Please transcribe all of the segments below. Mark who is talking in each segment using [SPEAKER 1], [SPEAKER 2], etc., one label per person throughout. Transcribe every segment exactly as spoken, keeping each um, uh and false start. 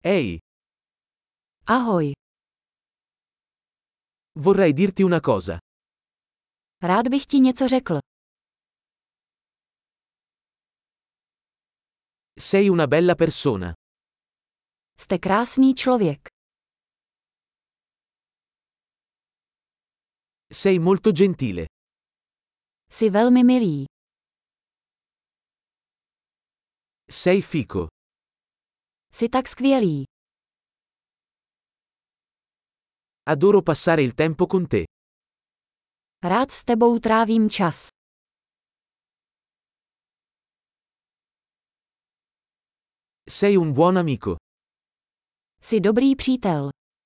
[SPEAKER 1] Ehi,
[SPEAKER 2] Ahoj,
[SPEAKER 1] vorrei dirti una cosa.
[SPEAKER 2] rád bych ti něco řekl.
[SPEAKER 1] Sei una bella persona.
[SPEAKER 2] Jste krásný člověk.
[SPEAKER 1] Sei molto gentile.
[SPEAKER 2] Jsi velmi milý.
[SPEAKER 1] Sei fico.
[SPEAKER 2] Jsi tak skvělý.
[SPEAKER 1] Adoro passare il tempo con te.
[SPEAKER 2] Rád s tebou trávím čas.
[SPEAKER 1] Sei un buon amico.
[SPEAKER 2] Jsi dobrý přítel.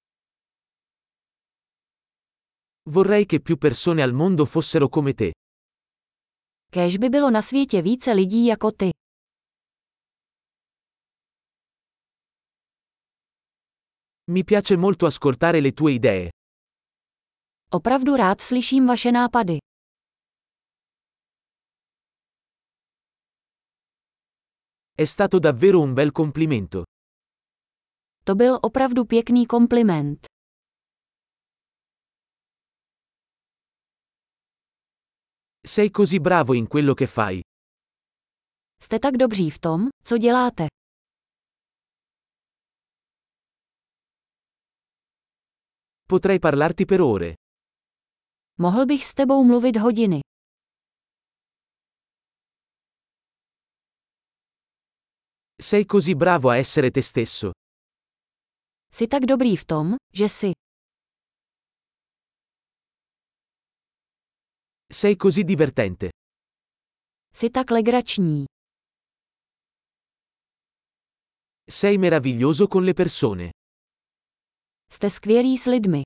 [SPEAKER 1] Vorrei che più persone al mondo fossero come te.
[SPEAKER 2] Kéž by bylo na světě více lidí jako ty.
[SPEAKER 1] Mi piace molto ascoltare le tue idee.
[SPEAKER 2] Opravdu rád slyším vaše nápady.
[SPEAKER 1] È stato davvero un bel complimento.
[SPEAKER 2] To byl opravdu pěkný kompliment.
[SPEAKER 1] Sei così bravo in quello che fai.
[SPEAKER 2] Jste tak dobří v tom, co děláte.
[SPEAKER 1] Potrei parlarti per ore.
[SPEAKER 2] Mohl bych s tebou mluvit hodiny.
[SPEAKER 1] Sei così bravo a essere te stesso.
[SPEAKER 2] Jsi tak dobrý v tom, že jsi.
[SPEAKER 1] Sei così divertente.
[SPEAKER 2] Jsi tak legrační.
[SPEAKER 1] Sei meraviglioso con le persone.
[SPEAKER 2] Jste skvělý s lidmi.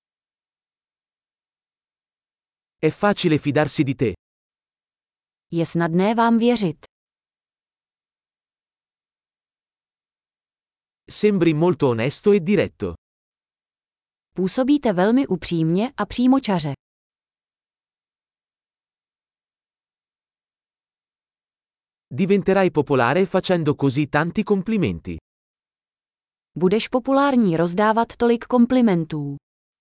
[SPEAKER 1] È facile fidarsi di te.
[SPEAKER 2] Je snadné vám věřit.
[SPEAKER 1] Sembri molto onesto e diretto.
[SPEAKER 2] Působíte velmi upřímně a přímočaře.
[SPEAKER 1] Diventerai popolare facendo così tanti complimenti.
[SPEAKER 2] Budeš populární rozdávat tolik komplimentů.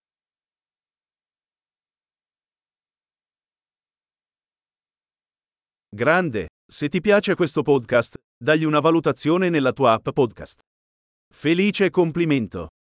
[SPEAKER 3] Grande, se ti piace questo podcast, dagli una valutazione nella tua app podcast. Felice complimento!